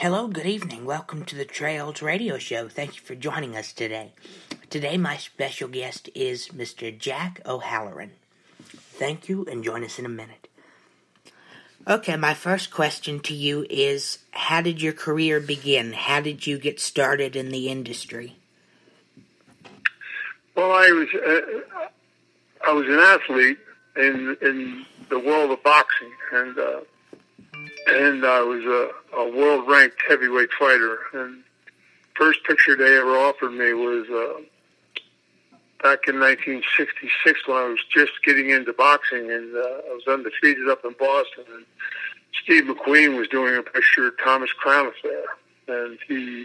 Hello, good evening. Welcome to the Trails Radio Show. Thank you for joining us today. Today, my special guest is Mr. Jack O'Halloran. Thank you, and join us in a minute. Okay, my first question to you is, how did your career begin? How did you get started in the industry? Well, I was an athlete in the world of boxing, and I was a world-ranked heavyweight fighter. And first picture they ever offered me was back in 1966 when I was just getting into boxing, and I was undefeated up in Boston. And Steve McQueen was doing a picture of Thomas Crown Affair, and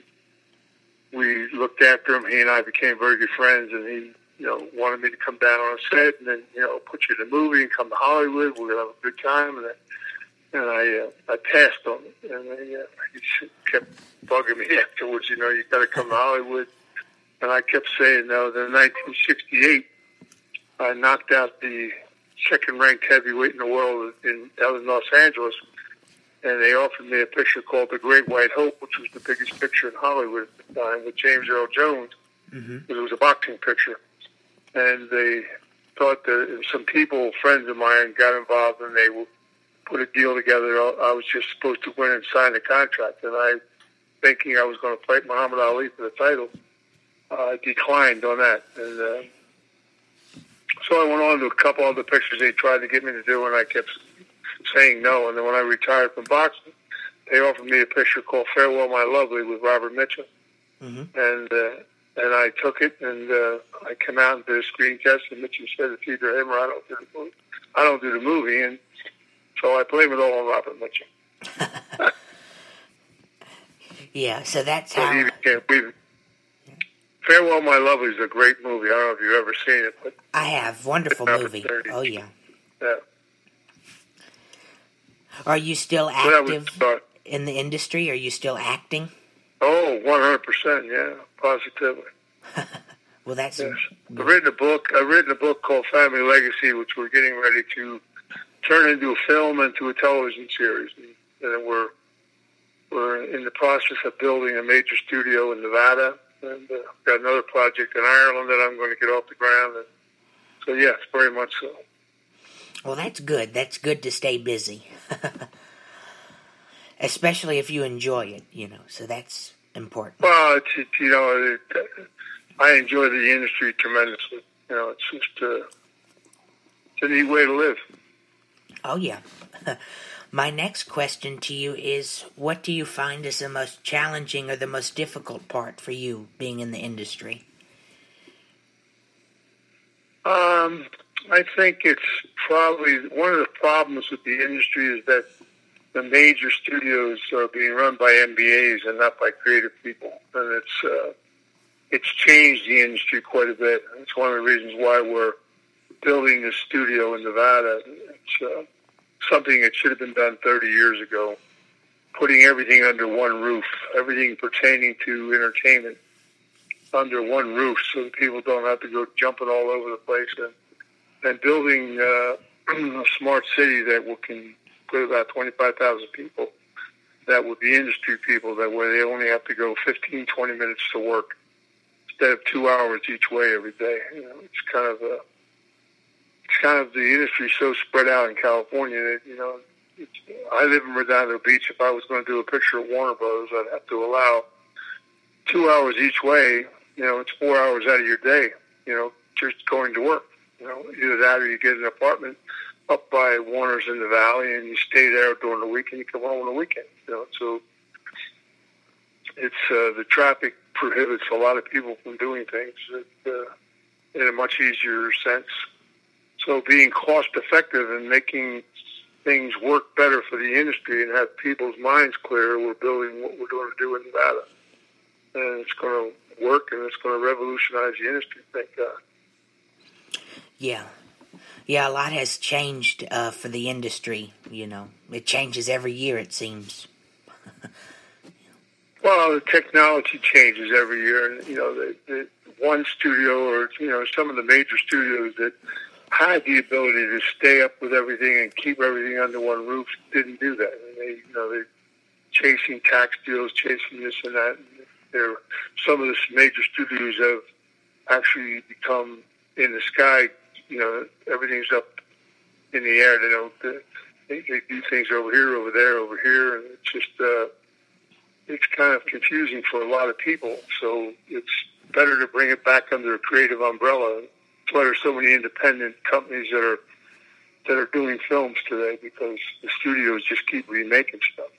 we looked after him. He and I became very good friends, and he, wanted me to come down on set and then, put you in a movie and come to Hollywood. We're gonna have a good time. And I passed on it, and he kept bugging me afterwards. You got to come to Hollywood, and I kept saying no. Then in 1968, I knocked out the second-ranked heavyweight in the world in Los Angeles, and they offered me a picture called The Great White Hope, which was the biggest picture in Hollywood at the time, with James Earl Jones. Mm-hmm. It was a boxing picture, and they thought that some people, friends of mine, got involved, and they put a deal together. I was just supposed to win and sign the contract, and I, thinking I was going to fight Muhammad Ali for the title, declined on that. And so I went on to a couple other pictures they tried to get me to do, and I kept saying no. And then when I retired from boxing, they offered me a picture called Farewell My Lovely with Robert Mitchum. Mm-hmm. And I took it, and I came out and did a screen test, and Mitchum said, it's either him or I don't do the movie. And so I blame it all on Robert Mitchum. Yeah, so that's how... Farewell My Lovely is a great movie. I don't know if you've ever seen it. But I have. Wonderful movie. Oh, yeah. Yeah. Are you still active in the industry? Are you still acting? Oh, 100%, yeah. Positively. Well, that's... Yes. I've written a book called Family Legacy, which we're getting ready to turn into a film and to a television series. And we're in the process of building a major studio in Nevada, and got another project in Ireland that I'm going to get off the ground. And so, yes, very much so. Well, that's good. That's good to stay busy. Especially if you enjoy it, so that's important. Well, I enjoy the industry tremendously. It's just it's a neat way to live. Oh, yeah. My next question to you is, what do you find is the most challenging or the most difficult part for you being in the industry? I think it's probably one of the problems with the industry is that the major studios are being run by MBAs and not by creative people. And it's changed the industry quite a bit. It's one of the reasons why we're building a studio in Nevada. It's something that should have been done 30 years ago, putting everything under one roof, everything pertaining to entertainment under one roof so that people don't have to go jumping all over the place, and building a smart city that can put about 25,000 people that would be industry people, that way they only have to go 15, 20 minutes to work instead of 2 hours each way every day. It's kind of the industry so spread out in California that, I live in Redondo Beach. If I was going to do a picture of Warner Brothers, I'd have to allow 2 hours each way. It's 4 hours out of your day, just going to work. Either that or you get an apartment up by Warner's in the Valley and you stay there during the week and you come home on the weekend. So it's the traffic prohibits a lot of people from doing things in a much easier sense. So being cost effective and making things work better for the industry and have people's minds clear, we're building what we're going to do in Nevada. And it's going to work, and it's going to revolutionize the industry, thank God. Yeah. Yeah, a lot has changed for the industry, It changes every year, it seems. Well, the technology changes every year. And, the one studio or, some of the major studios that had the ability to stay up with everything and keep everything under one roof didn't do that. And they chasing tax deals, chasing this and that. Some of the major studios have actually become in the sky. Everything's up in the air. They don't. They do things over here, over there, over here, and it's just it's kind of confusing for a lot of people. So it's better to bring it back under a creative umbrella. That's why there's so many independent companies that are doing films today, because the studios just keep remaking stuff.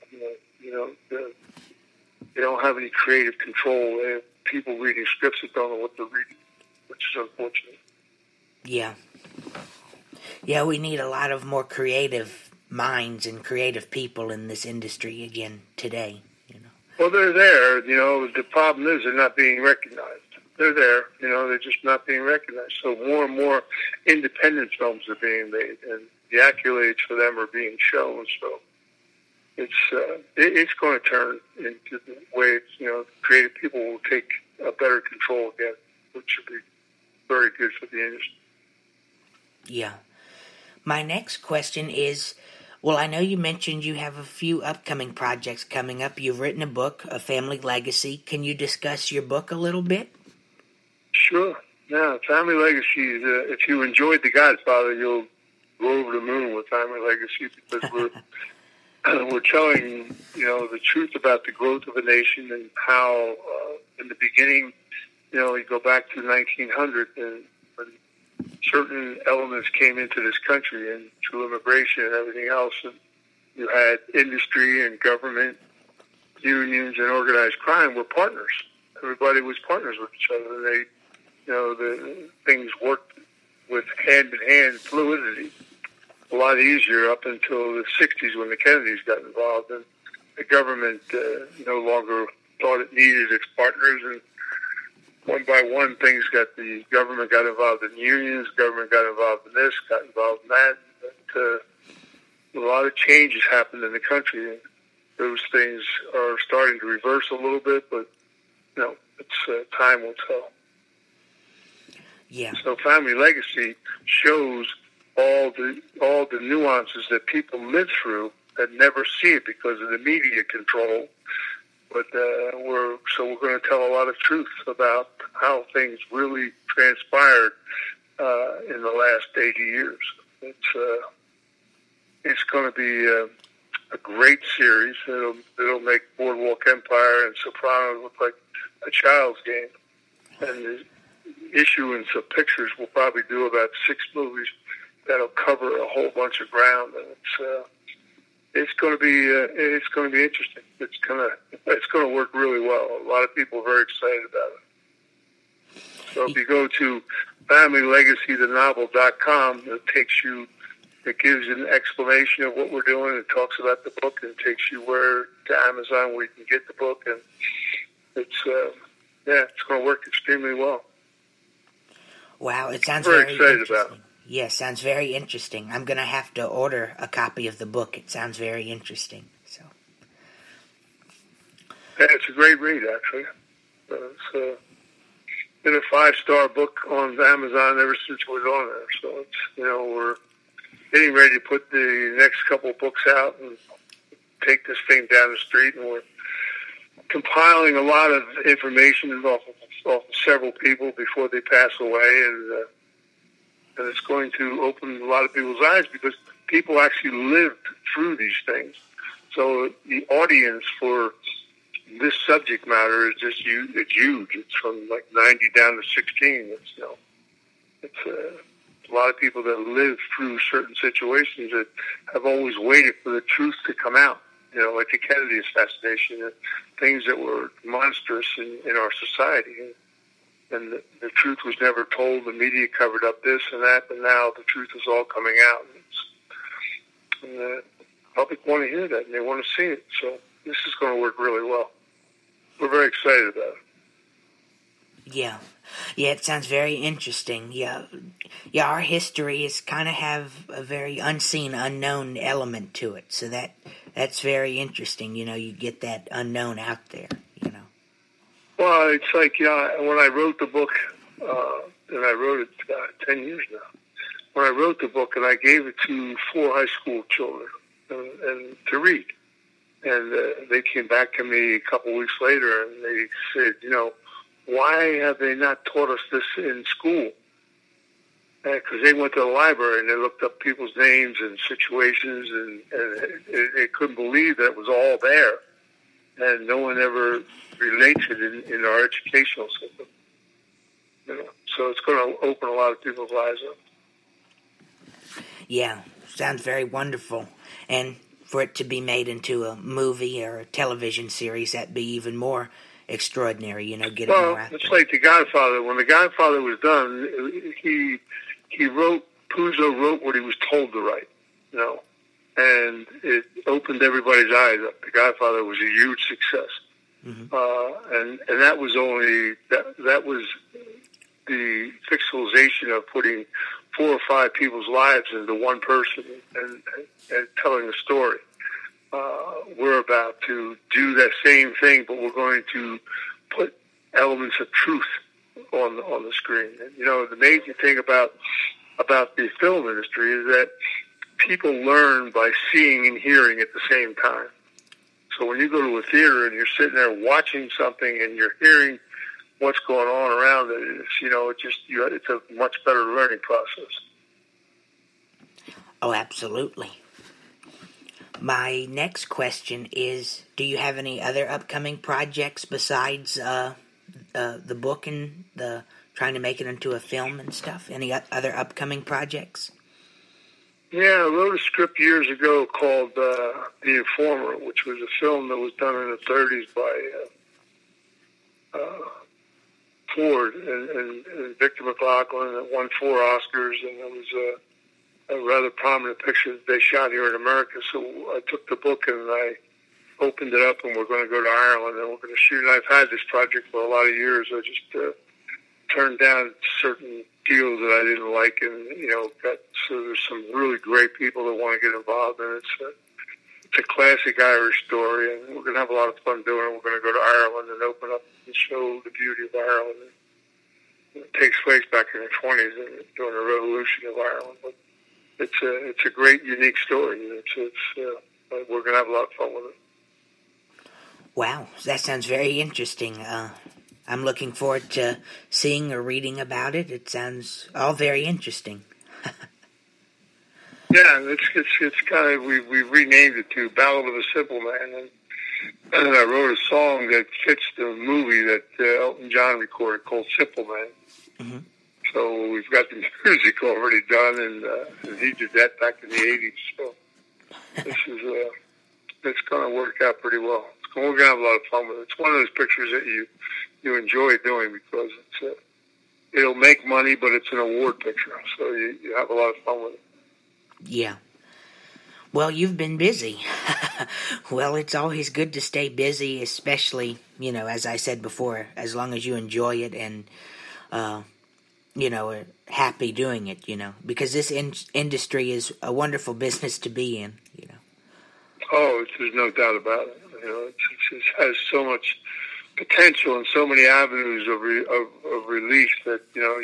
They don't have any creative control. They have people reading scripts that don't know what they're reading, which is unfortunate. Yeah. Yeah, we need a lot of more creative minds and creative people in this industry again today. Well, they're there. The problem is they're not being recognized. They're there. They're just not being recognized. So more and more independent films are being made, and the accolades for them are being shown. So it's going to turn into the way creative people will take a better control again, which should be very good for the industry. Yeah. My next question is, well, I know you mentioned you have a few upcoming projects coming up. You've written a book, A Family Legacy. Can you discuss your book a little bit? Sure. Yeah, Family Legacy, if you enjoyed The Godfather, you'll go over the moon with Family Legacy, because we're telling, the truth about the growth of a nation and how, in the beginning, you go back to 1900, and when certain elements came into this country, and through immigration and everything else, and you had industry and government, unions, and organized crime were partners. Everybody was partners with each other, and they, the things worked with hand-in-hand fluidity a lot easier up until the 60s, when the Kennedys got involved, and the government no longer thought it needed its partners, and one by one, the government got involved in unions, government got involved in this, got involved in that. But, a lot of changes happened in the country, and those things are starting to reverse a little bit, but, it's time will tell. Yeah. So Family Legacy shows all the nuances that people live through that never see it because of the media control. But we're going to tell a lot of truth about how things really transpired in the last 80 years. It's going to be a great series. It'll make Boardwalk Empire and Sopranos look like a child's game. And the issuance of pictures will probably do about 6 movies that'll cover a whole bunch of ground, and it's going to be interesting. It's going to work really well. A lot of people are very excited about it. So if you go to FamilyLegacyTheNovel.com, it gives you an explanation of what we're doing. It talks about the book, and it takes you to Amazon, where you can get the book, and it's going to work extremely well. Wow, it sounds very excited interesting. about it. Yes, sounds very interesting. I'm going to have to order a copy of the book. It sounds very interesting. So, yeah, it's a great read, actually. It's been a 5-star book on Amazon ever since it was on there. So it's we're getting ready to put the next couple of books out and take this thing down the street, and we're compiling a lot of information off of several people before they pass away, and it's going to open a lot of people's eyes, because people actually lived through these things. So the audience for this subject matter is just huge. It's huge. It's from like 90 down to 16. It's a lot of people that live through certain situations that have always waited for the truth to come out. Like the Kennedy assassination, and things that were monstrous in our society. And the truth was never told. The media covered up this and that, but now the truth is all coming out. And the public want to hear that, and they want to see it. So this is going to work really well. We're very excited about it. Yeah, it sounds very interesting. Yeah, our history is kind of have a very unseen, unknown element to it. So that's very interesting. You get that unknown out there. Well, it's like, when I wrote the book, and I wrote it 10 years now, when I wrote the book and I gave it to 4 high school children and to read. And they came back to me a couple weeks later, and they said, why have they not taught us this in school? Because they went to the library and they looked up people's names and situations, and they couldn't believe that it was all there. And no one ever relates it in our educational system. So it's going to open a lot of people's lives up. Yeah, sounds very wonderful. And for it to be made into a movie or a television series, that'd be even more extraordinary, get it more out there. It's like The Godfather. When The Godfather was done, Puzo wrote what he was told to write, and it opened everybody's eyes up. The Godfather was a huge success. And that was that was the fictionalization of putting 4 or 5 people's lives into one person and telling a story. We're about to do that same thing, but we're going to put elements of truth on the screen. And, the amazing thing about the film industry is that people learn by seeing and hearing at the same time. So when you go to a theater and you're sitting there watching something and you're hearing what's going on around it, it's a much better learning process. Oh, absolutely. My next question is, do you have any other upcoming projects besides the book and the trying to make it into a film and stuff? Any other upcoming projects? Yeah, I wrote a script years ago called The Informer, which was a film that was done in the 30s by Ford and Victor McLaughlin. It won 4 Oscars, and it was a rather prominent picture that they shot here in America. So I took the book and I opened it up, and we're going to go to Ireland and we're going to shoot. And I've had this project for a lot of years. I just turned down certain deals that I didn't like, and so there's some really great people that want to get involved, and it's a classic Irish story, and we're going to have a lot of fun doing it. We're going to go to Ireland and open up and show the beauty of Ireland. It takes place back in the 20s during the Revolution of Ireland, but it's a great, unique story. We're going to have a lot of fun with it. Wow, that sounds very interesting. I'm looking forward to seeing or reading about it. It sounds all very interesting. Yeah, it's kind of we renamed it to Ballad of a Simple Man, and I wrote a song that fits the movie that Elton John recorded called Simple Man. Mm-hmm. So we've got the music already done, and he did that back in the 80s. So it's going to work out pretty well. We're going to have a lot of fun with it. It's one of those pictures that you enjoy doing because it'll make money, but it's an award picture, so you have a lot of fun with it. Yeah. Well, you've been busy. Well, it's always good to stay busy, especially, as I said before, as long as you enjoy it and, are happy doing it, because this industry is a wonderful business to be in, Oh, there's no doubt about it. It has so much potential and so many avenues of release that,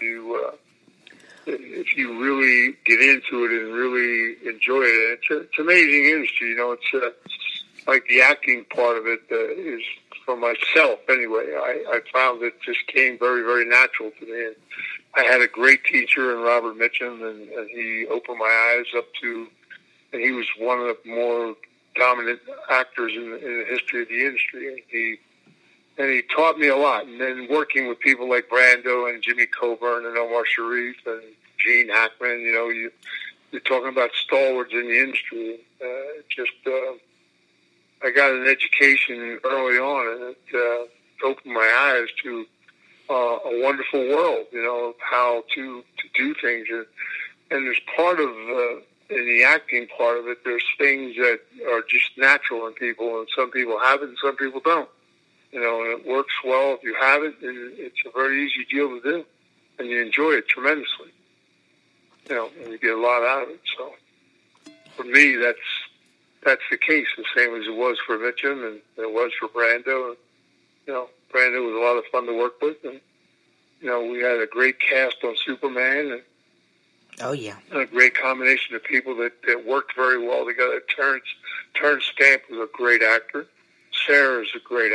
if you really get into it and really enjoy it, it's an amazing industry. It's like the acting part of it is, for myself anyway, I found it just came very, very natural to me. And I had a great teacher in Robert Mitchum, and he opened my eyes up to, and he was one of the more dominant actors in the history of the industry. And he taught me a lot. And then working with people like Brando and Jimmy Coburn and Omar Sharif and Gene Hackman, you're talking about stalwarts in the industry. I got an education early on, and it opened my eyes to a wonderful world, of how to do things. And there's part of, in the acting part of it, there's things that are just natural in people, and some people have it and some people don't. And it works well if you have it, and it's a very easy deal to do, and you enjoy it tremendously. And you get a lot out of it. So for me, that's the case, the same as it was for Mitchum and it was for Brando. And, Brando was a lot of fun to work with, and we had a great cast on Superman, and Oh, yeah. A great combination of people that worked very well together. Terrence Stamp was a great actor. Sarah is a great